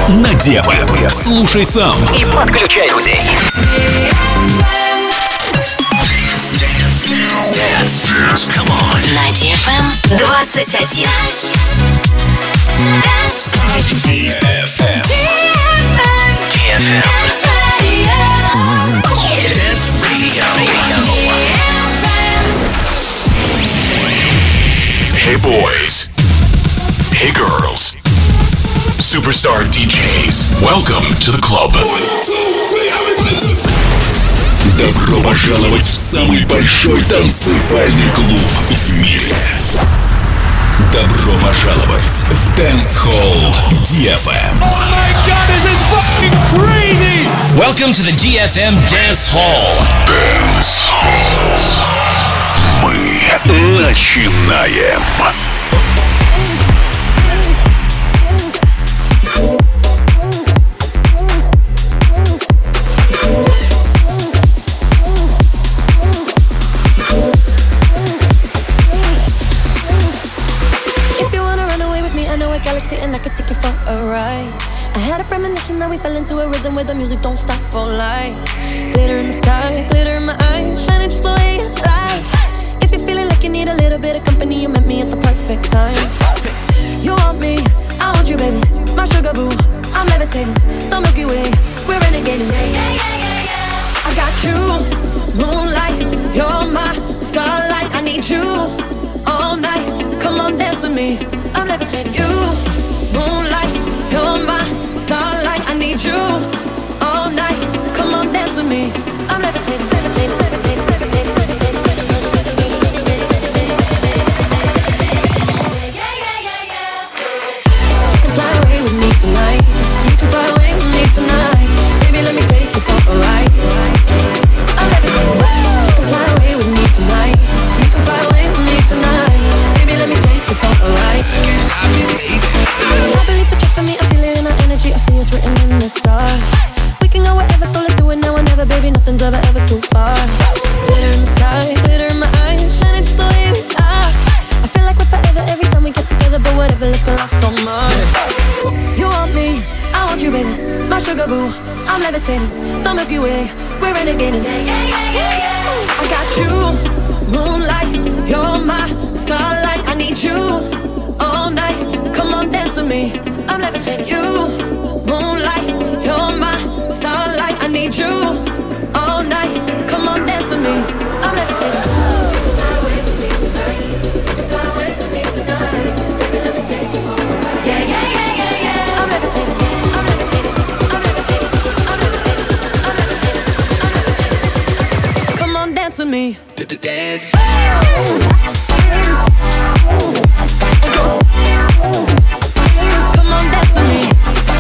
на DFM. Слушай сам и подключай друзей. Come on. На DFM 21. DFM. Dance Radio. Dance Radio. Hey boys. Hey girls. Superstar DJs. Welcome to the club. Добро пожаловать в самый большой танцевальный клуб в мире. Добро пожаловать в Dance Hall DFM. Oh my god, this is fucking crazy! Welcome to the DFM Dance Hall. Dance Hall. Мы начинаем. And I could take you for a ride. I had a premonition that we fell into a rhythm where the music don't stop for life. Glitter in the sky, glitter in my eyes, shining just the way you like. If you're feeling like you need a little bit of company, you met me at the perfect time. You want me, I want you, baby. My sugar boo, I'm levitating. The Milky Way, we're renegading. I got you, moonlight, you're my starlight. I need you all night. Come on, dance with me. I'm levitating. You, moonlight, you're my starlight. I need you all night. Come on, dance with me. I'm levitating, levitating, levitating, levitating, levitating. You can fly away with me tonight. You can fly away with me tonight. Baby, let me take you for a ride. I'm levitating. You can fly away with me tonight. You can fly away with me tonight. Baby, let me take you for a ride. I believe that you're for me, I feel it in our energy. I see it's written in the stars. We can go wherever, so let's do it now or never, baby. Nothing's ever too far. Glitter in the sky, glitter in my eyes, shining just the way we are. I feel like we're forever every time we get together, but whatever, let's get lost on Mars. You want me, I want you, baby. My sugar boo, I'm levitating. The Milky Way, we're renegading. I got you, moonlight, you're my starlight. I need you all night. Come on, dance with me. I'm levitating. You, moonlight, you're my starlight. I need you all night. Come on, dance with me. I'm levitating. You can fly away with me tonight. You can fly away with me tonight. Baby, let me take you for a ride. Yeah, yeah, yeah, yeah, yeah. I'm levitating. I'm levitating. I'm levitating. I'm levitating. I'm levitating. I'm levitating. Come on, dance with me. Dance. Come on, dance with me.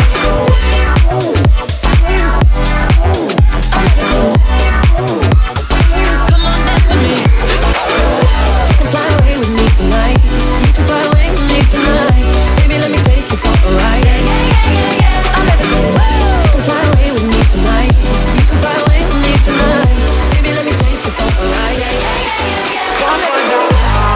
Come on, dance with me. You can fly away with me tonight. You can fly away with me tonight. Baby, let me take you for a ride. I'm levitating. You can fly away with me tonight. You can fly away with me tonight. Baby, let me take you for a ride. I'm levitating.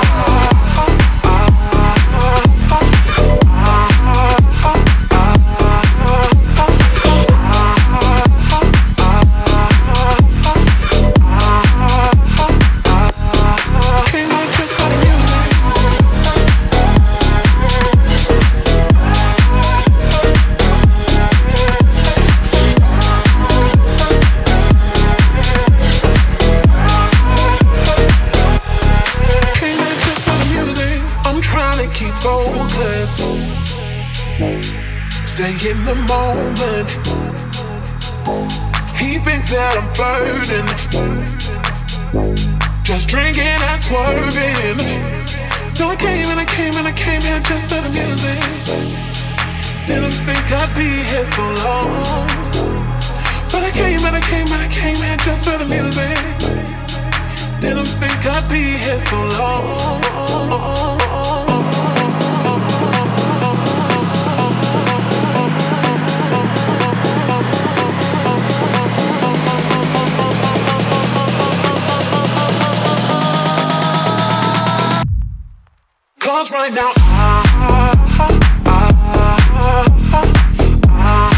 Stay in the moment. He thinks that I'm flirting, just drinking and swerving. So I came and I came and I came here just for the music. Didn't think I'd be here so long, but I came and I came and I came here just for the music. Didn't think I'd be here so long. Cause right now I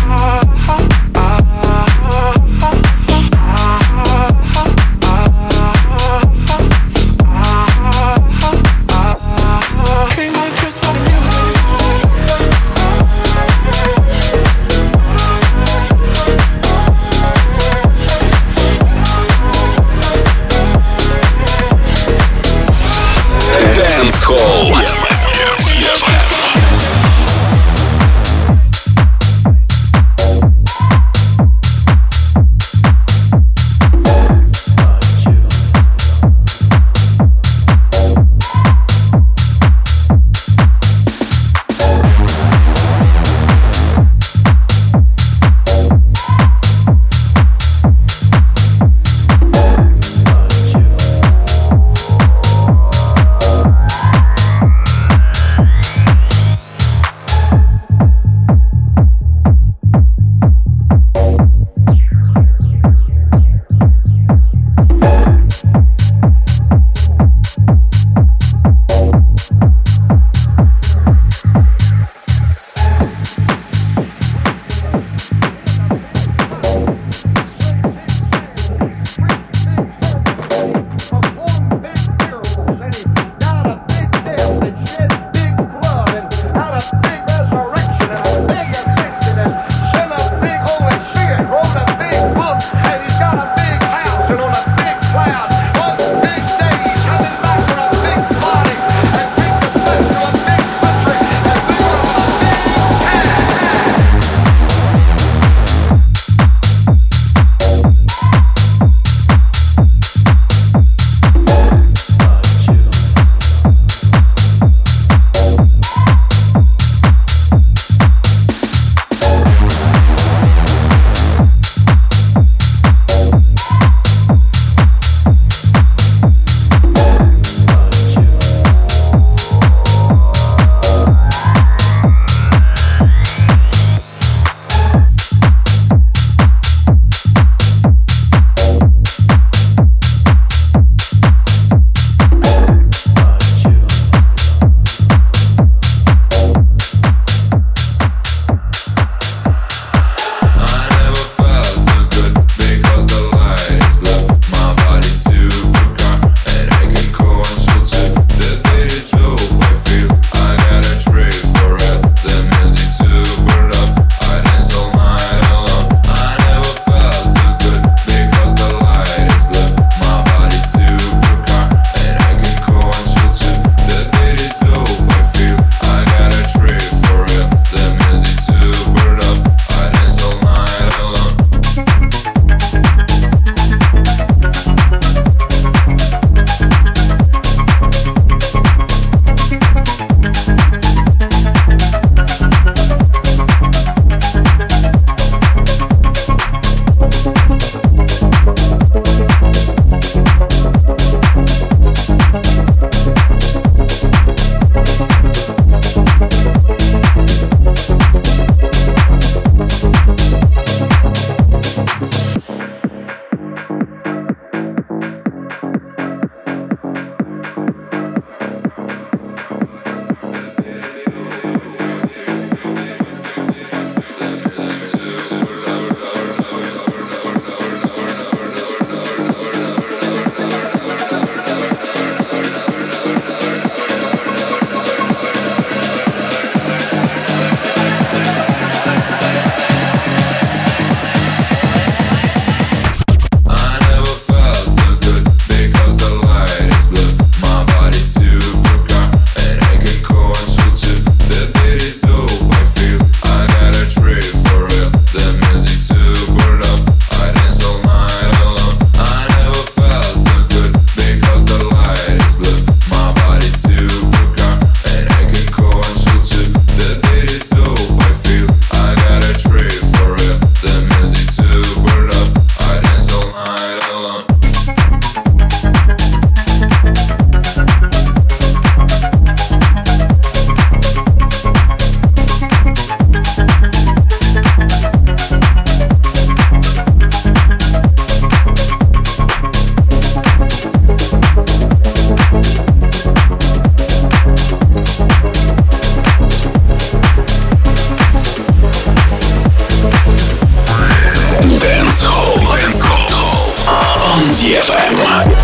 DFM.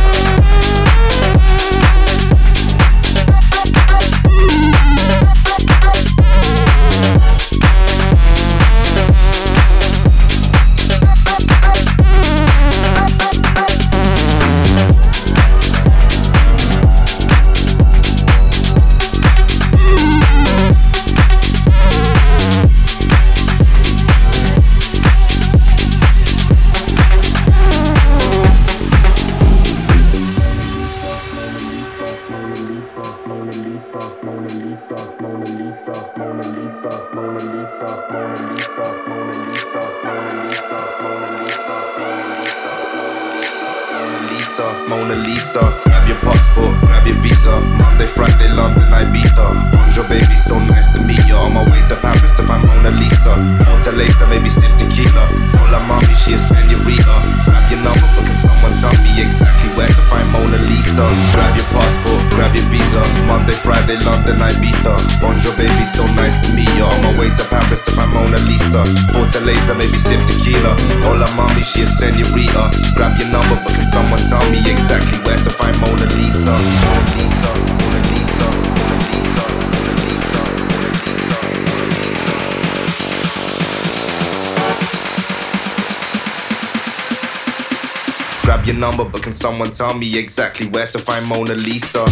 Mona Lisa, grab your passport, grab your visa. Monday, Friday, London, Ibiza. Bonjour, baby, so nice to meet you. On my way to Paris to find Mona Lisa. Fortaleza, maybe sip tequila. Hola, mommy, she a senorita. Grab your number, but can someone tell me exactly where to find Mona Lisa? Grab your passport, grab your visa. Monday, Friday, London, Ibiza. Bonjour, baby, so nice to meet you. On my way to Paris to find Mona Lisa. Fortaleza, maybe sip tequila. Hola, mommy, she a senorita. Grab your number, but can someone tell me exactly where to find Mona Lisa? Mona Lisa, Mona Lisa, Mona Lisa, Mona Lisa, Mona Lisa, Mona Lisa. Grab your number, but can someone tell me exactly where to find Mona Lisa?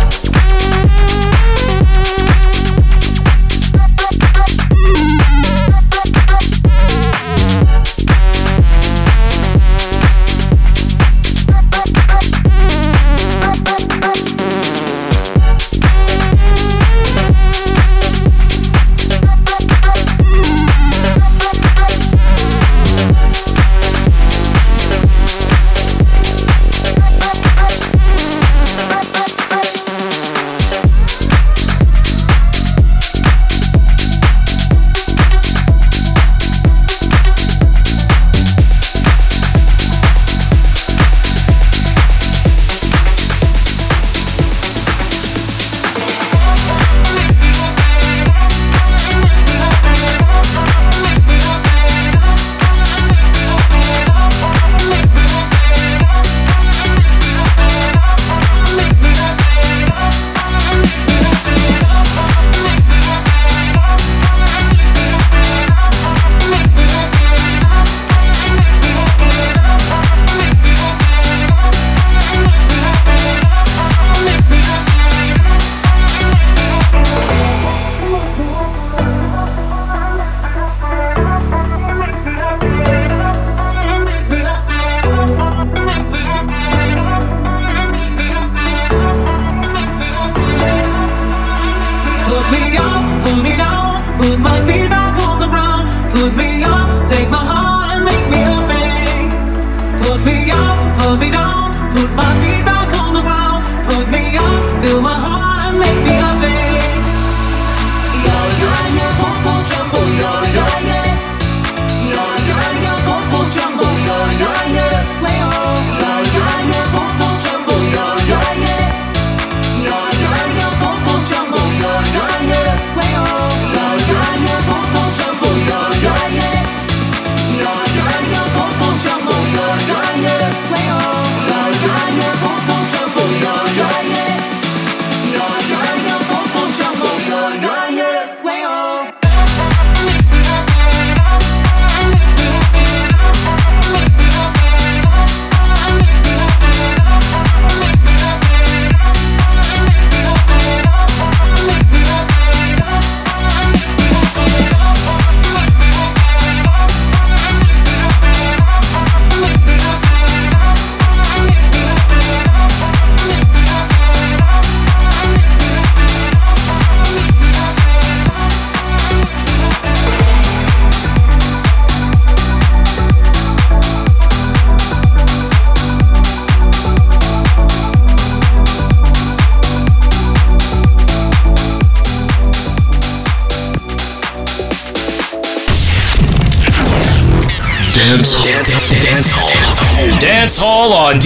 Dance Hall on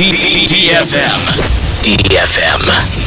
DFM. DFM.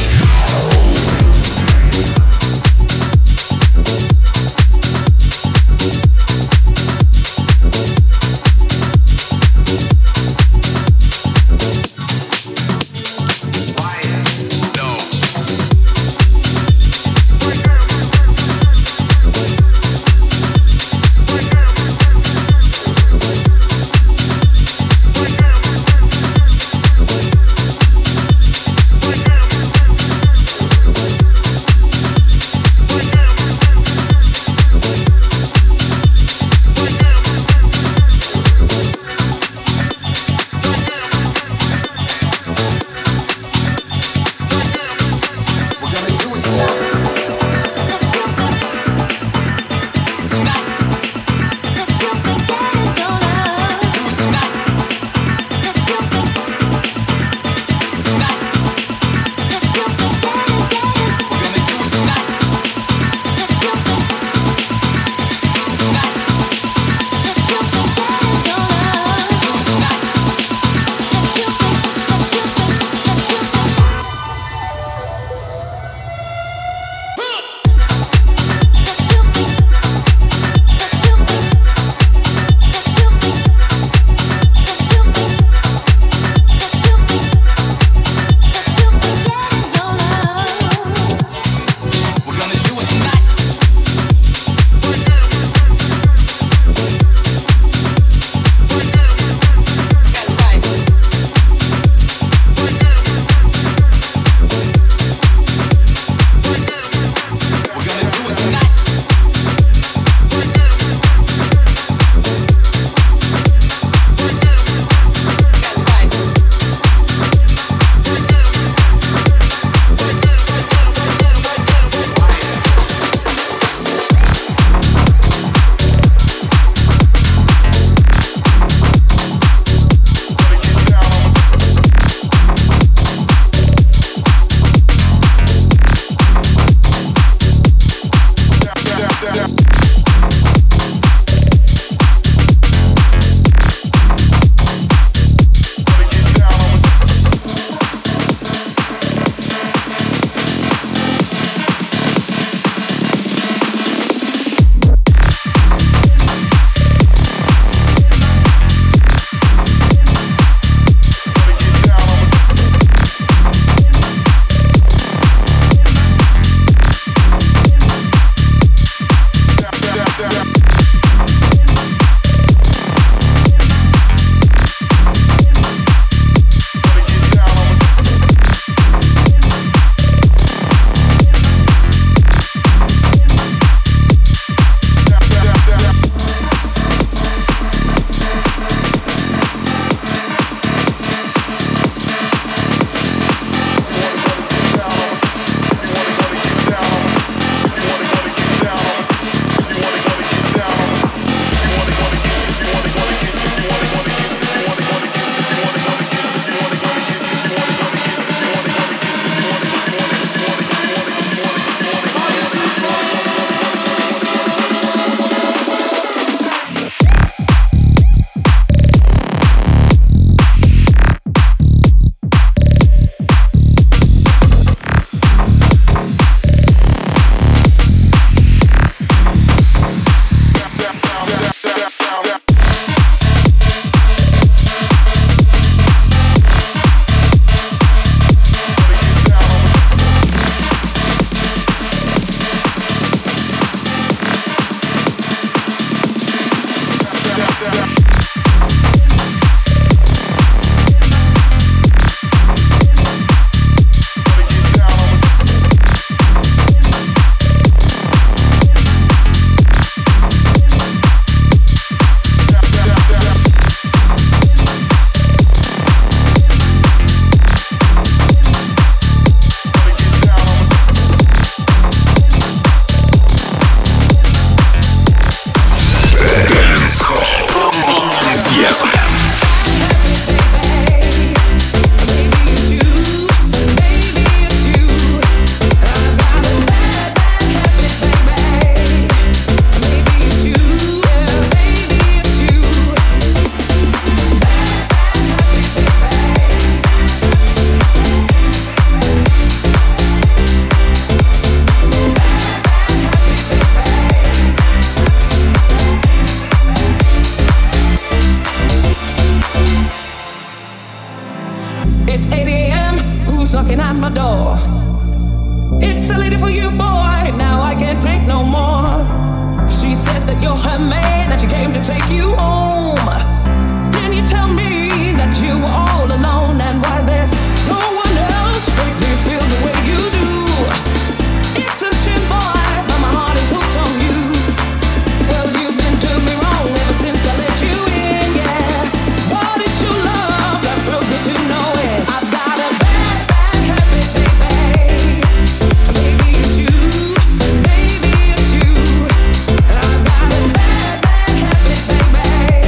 at my door. It's a lady for you, boy. Now I can't take no more. She says that you're her man, that she came to take you home. Then you tell me that you were all alone and why there's no one else make me feel the way you do. It's a shame, boy, but my heart is hooked on you. Well, you've been doing me wrong ever since I let you in, yeah. What is your love that thrills me to know it? I've got a bad, bad habit, baby. Maybe it's you, maybe it's you. I've got a bad, bad habit, baby.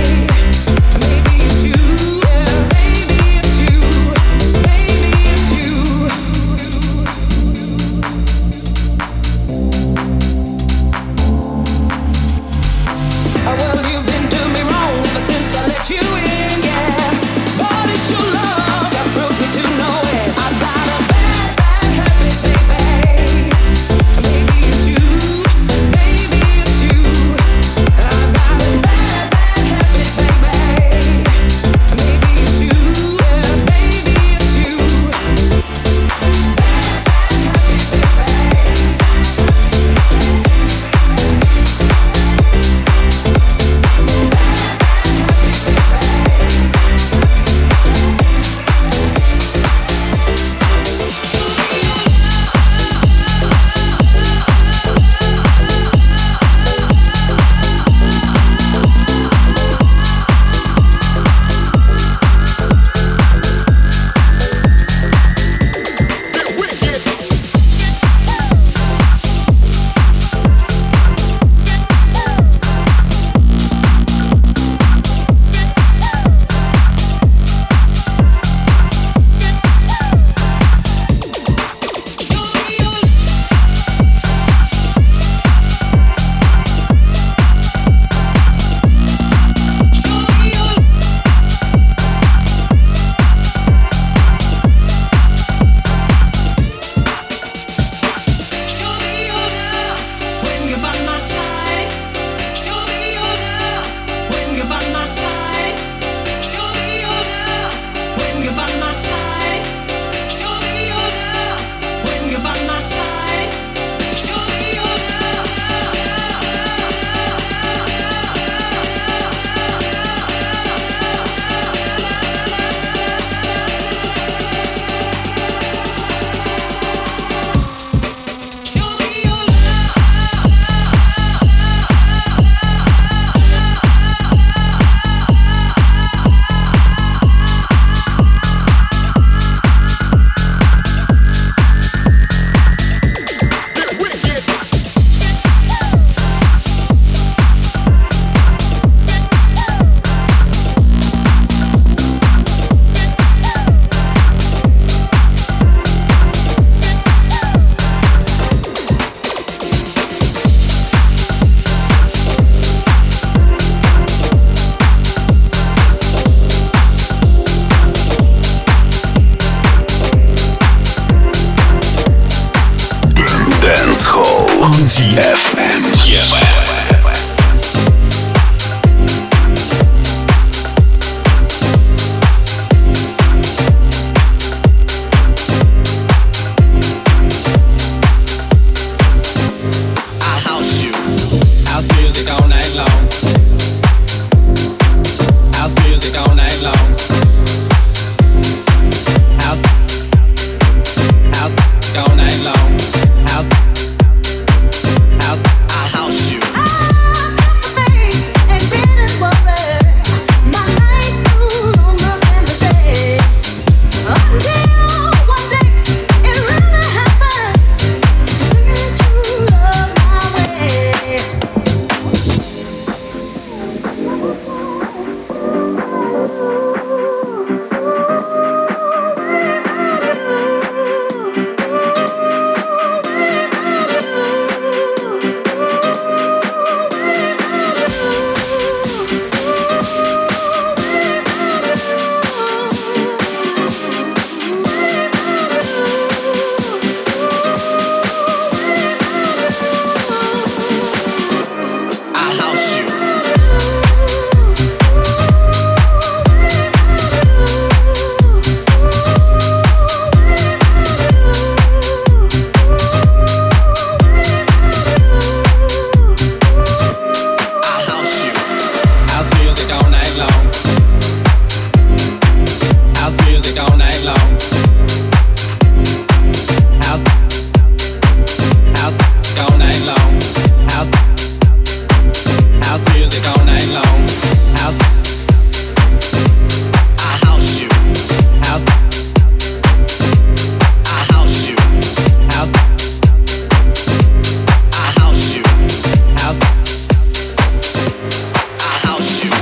night long. House, I house you. House, I house you. House, I house you. House, I house you.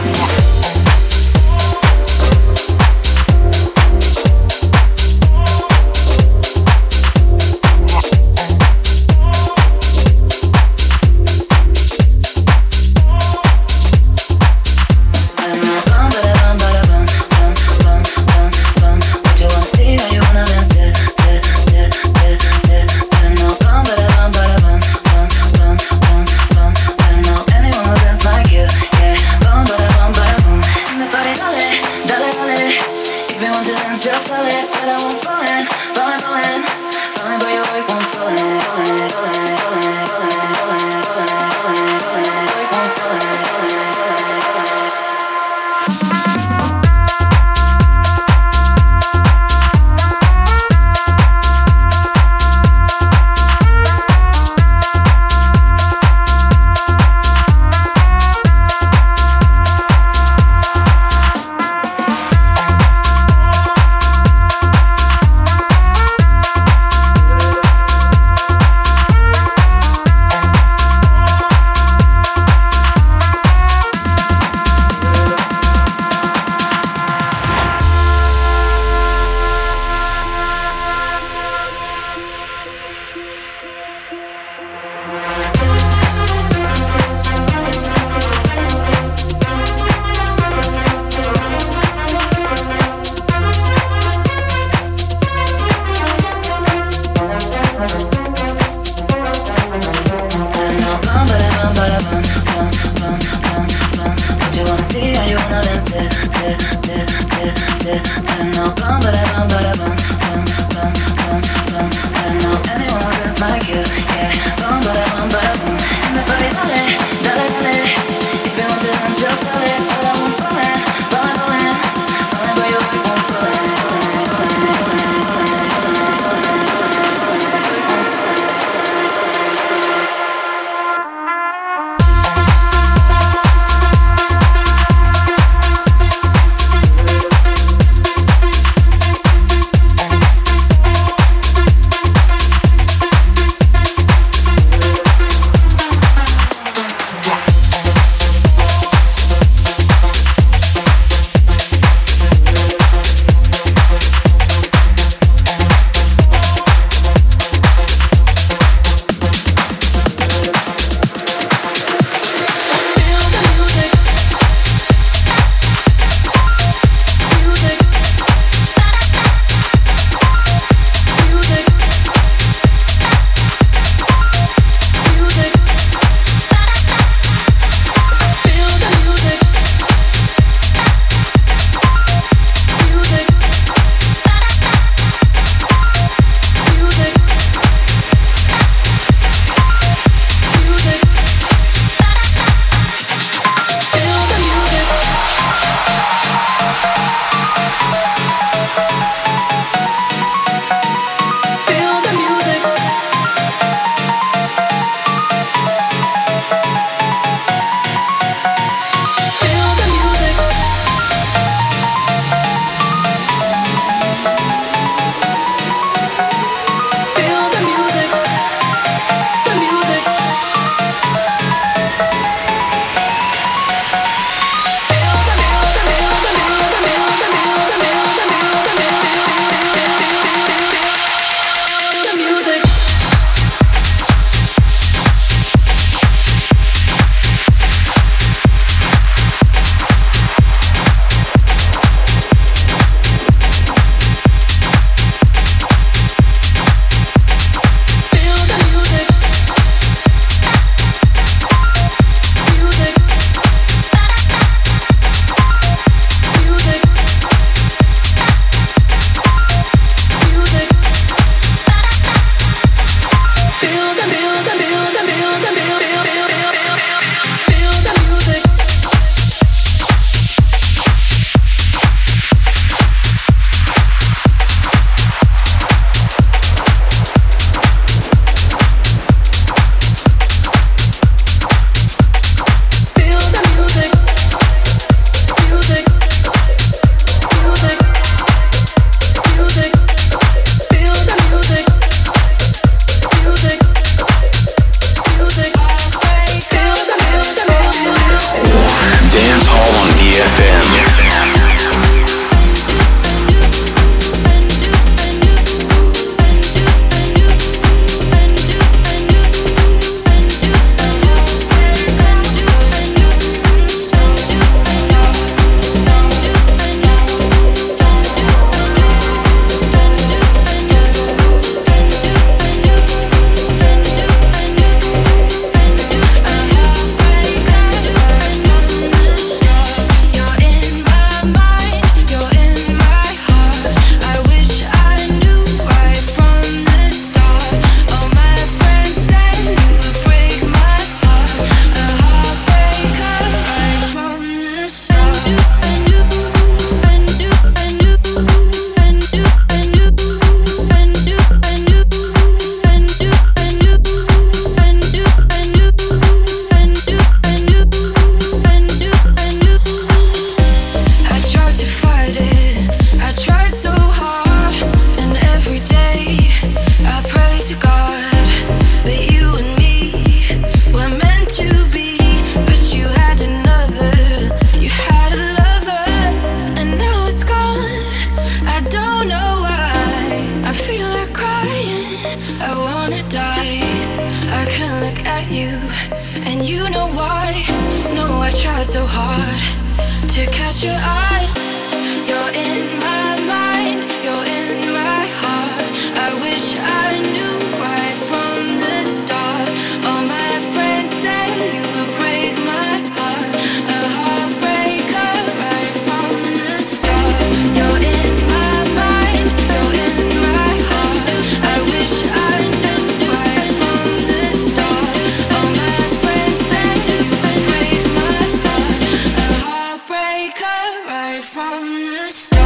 tried so hard to catch your eye. You're in my mind, you're in my heart. I wish I knew right from the start. All my friends say you would break my heart. A heartbreaker right from the start. You're in my mind, you're in my heart. I wish I knew right from the start. All my friends say you would break my heart. A heartbreaker right from the start.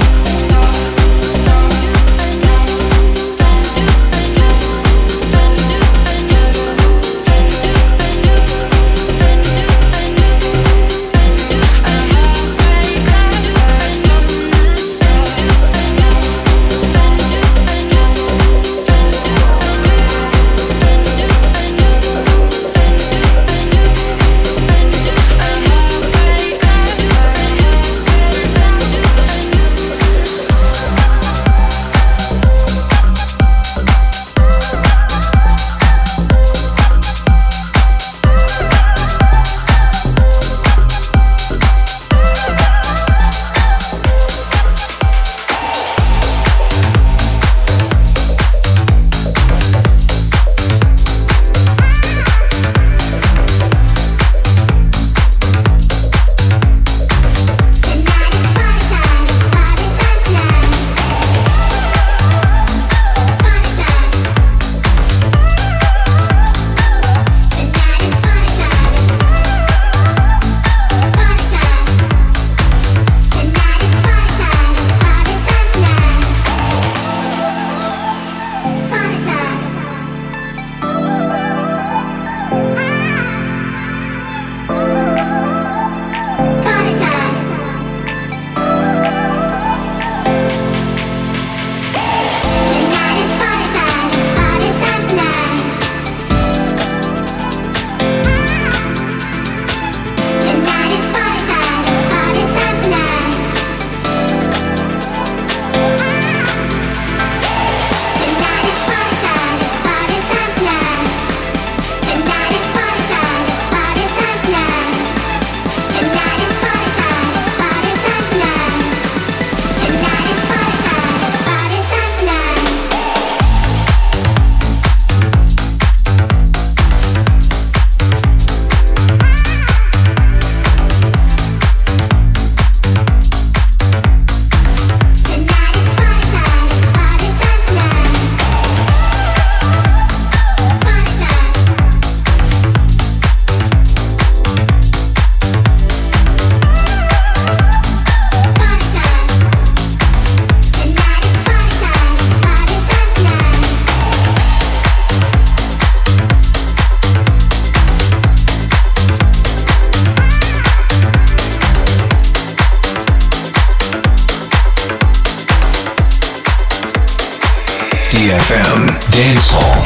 DFM Dance Hall.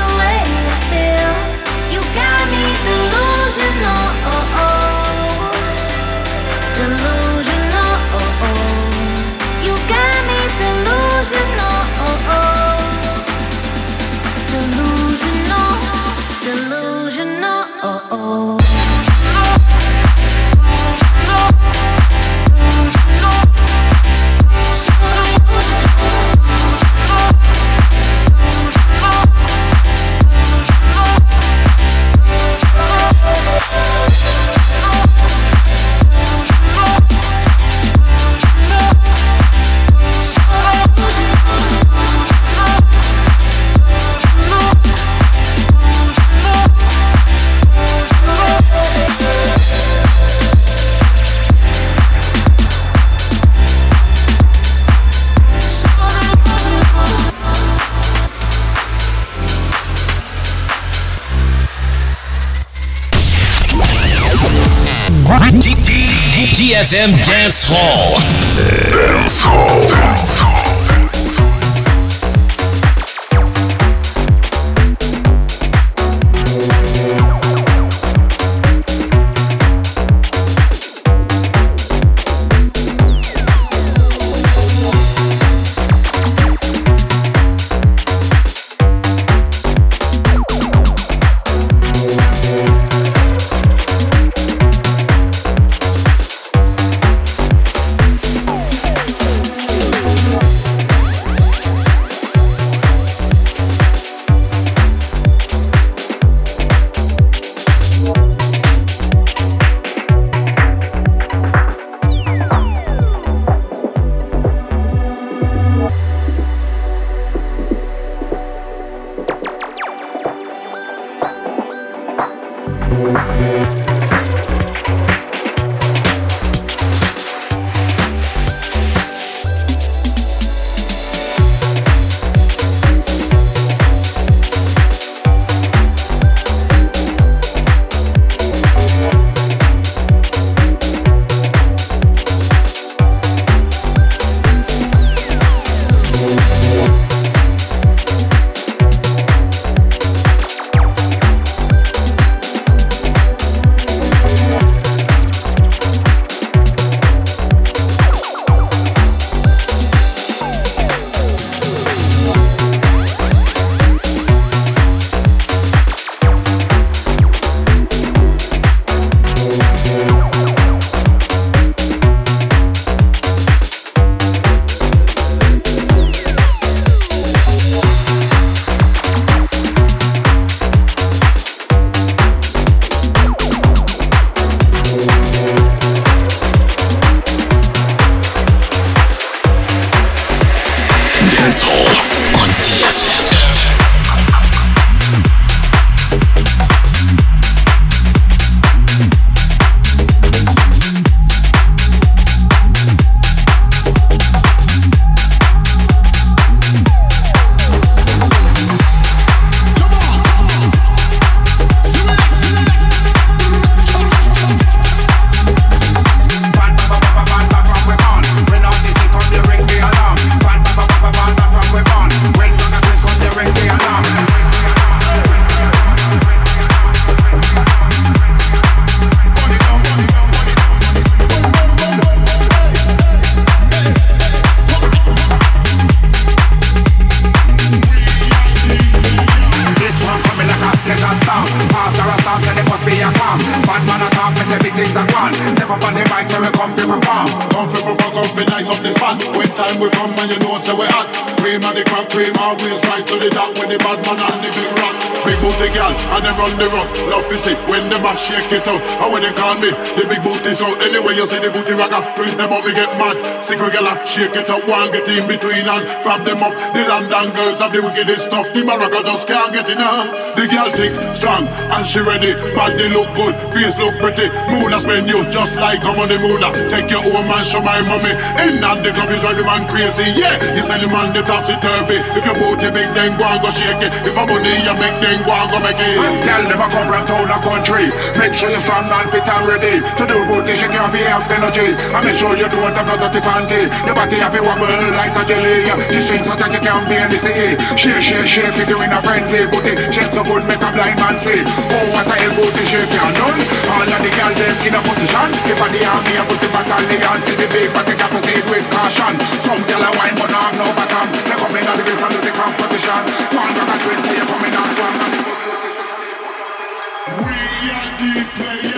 way it feels. You got me delusional, delusional. You got me delusional, delusional, delusional. DFM Dance Hall. Shake it out, and when they call me, the big booty's out. Anyway, you see the booty ragga, freeze them up, me get mad. Sick regular, shake it up, one get in between and grab them up. The London girls have the wickedest stuff, the Maraca just can't get enough. The girl thick, strong, and she ready. Body look good, face look pretty. Moona spend you just like I'm on the Moona. Take your own man, show my mommy. In and the club is drive the man crazy, yeah. You sell the man the topsy-turvy. If your booty big, then go and go shake it. If I'm money, you make them go want go make it. Girl never come from town or country. Make sure you're strong and fit and ready to do booty, she can't have energy. And make sure you don't have no dirty panty. Your body have to wobble like a jelly. The strings so that you can't be in the sea. Shake it, you in a frenzy. Booty shake so good, make a blind man see. Oh, what a hell booty shake can done. All of the girl them in a position. If I the army and put the battalion, see the big body got to see it with caution. Some girl a wine but not have no bottom. They come in on the base and do the competition. One rock at 20, you coming on strong. We are the player.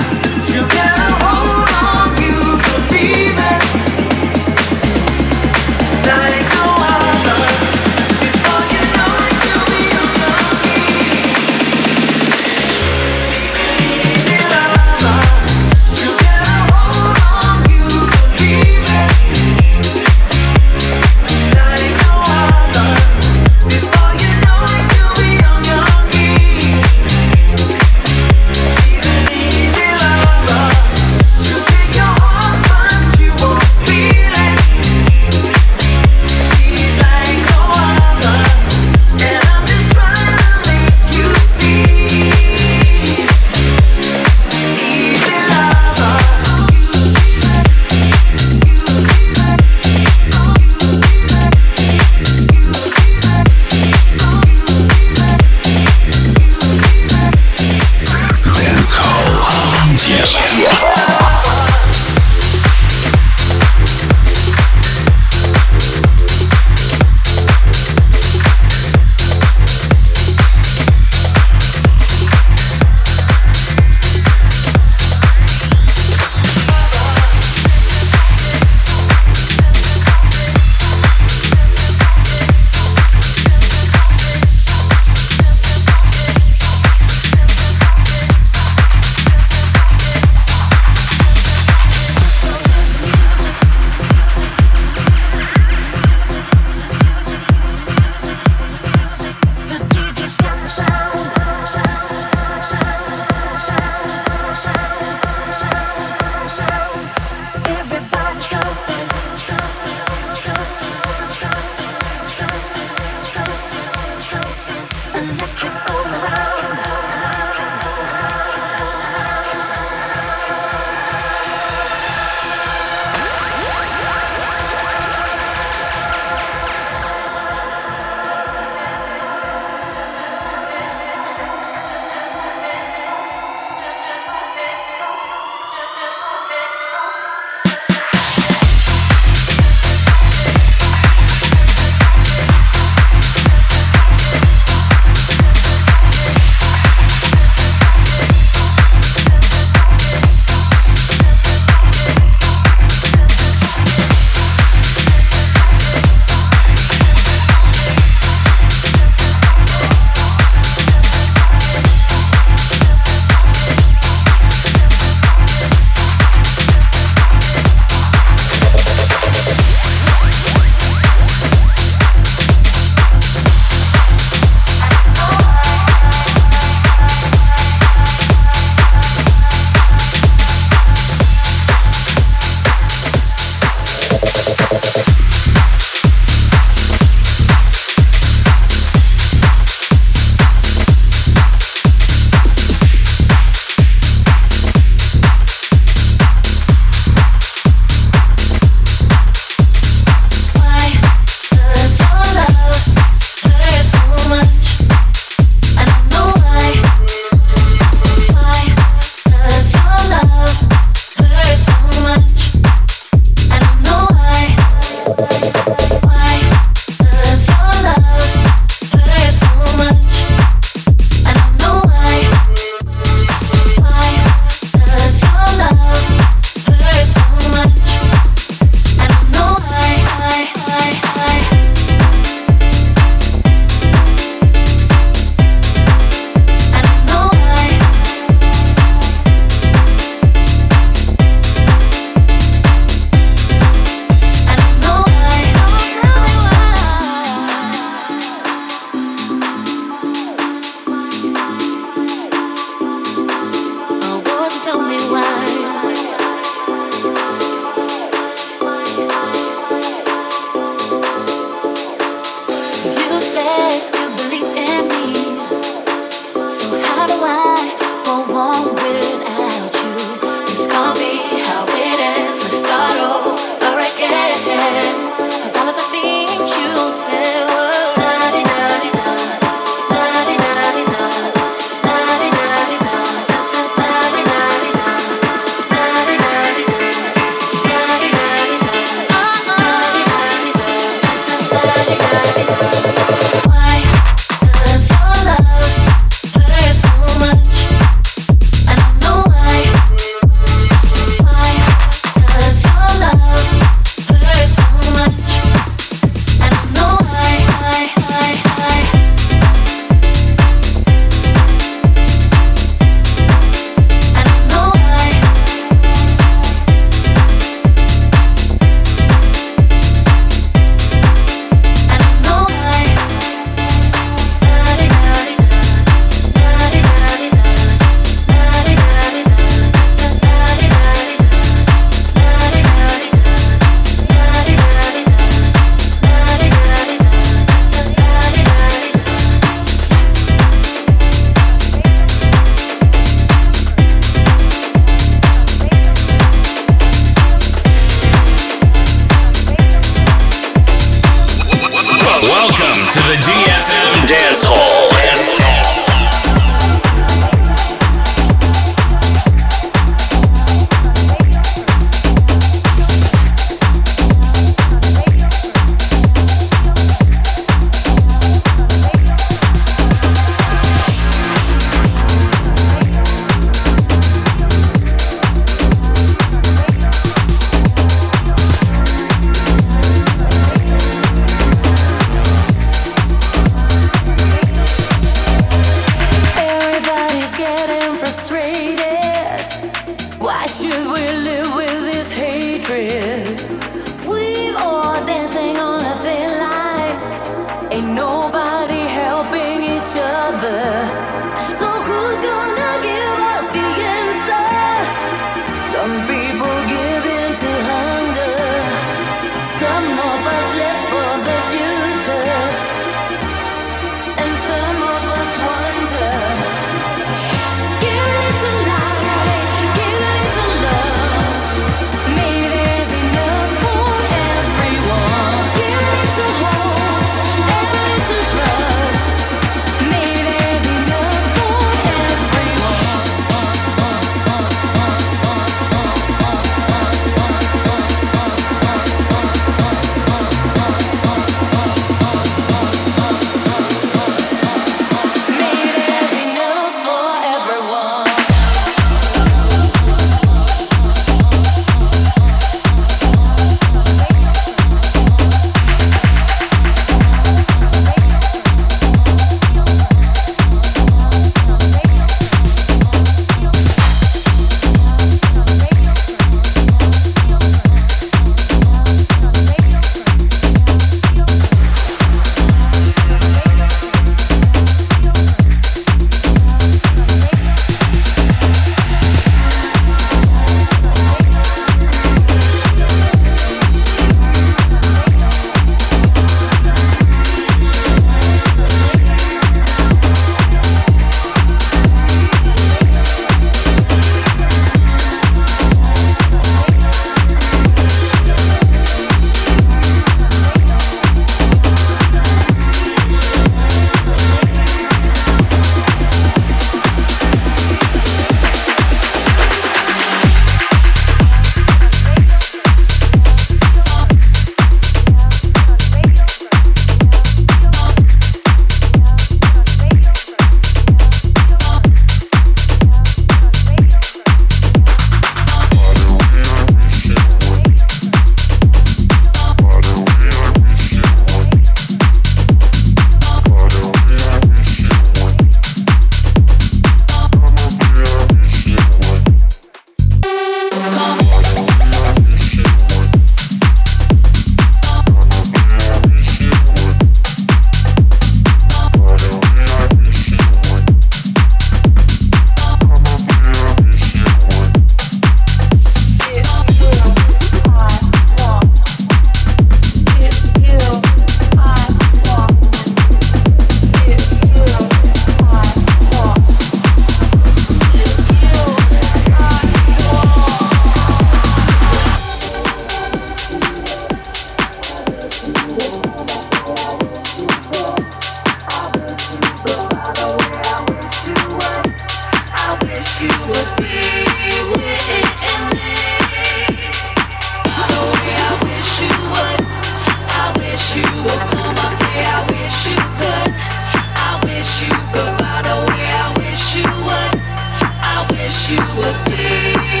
wish you goodbye the way I wish you would. I wish you would be.